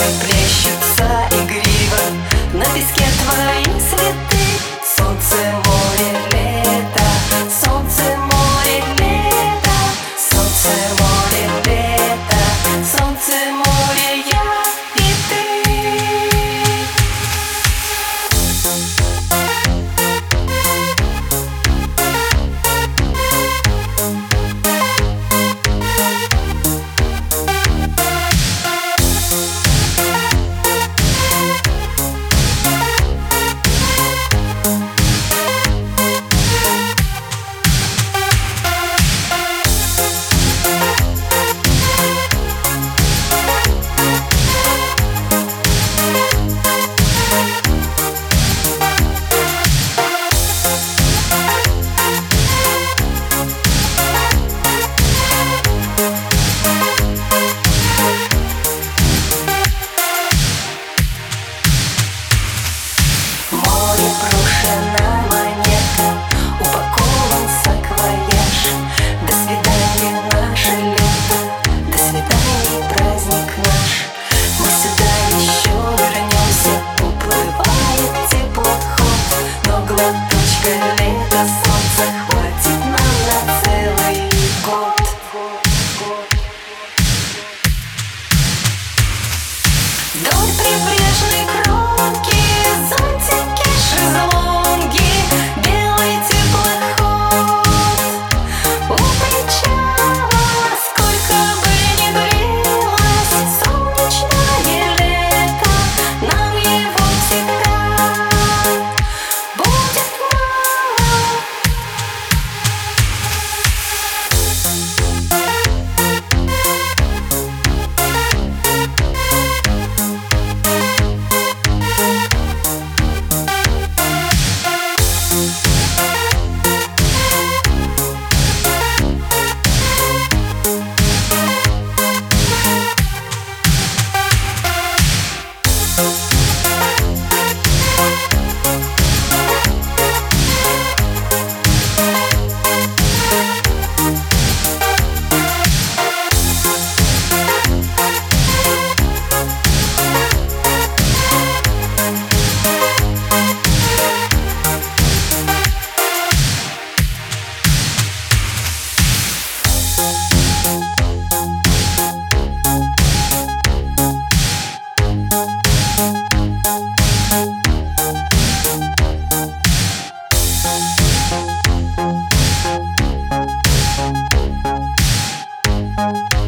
плещутся игриво на песке твои цветы. Солнце, море, лето, солнце, море, лето, солнце, море, лето, солнце, море, я и ты. Брошена монета, упакован саквояж. До свидания, наше лето, до свидания, праздник наш. Мы сюда еще вернемся, уплывает теплоход, но глоточка лета, солнца хватит нам на целый год. Вдоль прибрежной кромки зонтики, шезлонги, белый теплоход у причала. Сколько бы ни длилось солнечное лето, нам его всегда будет мало. Thank you.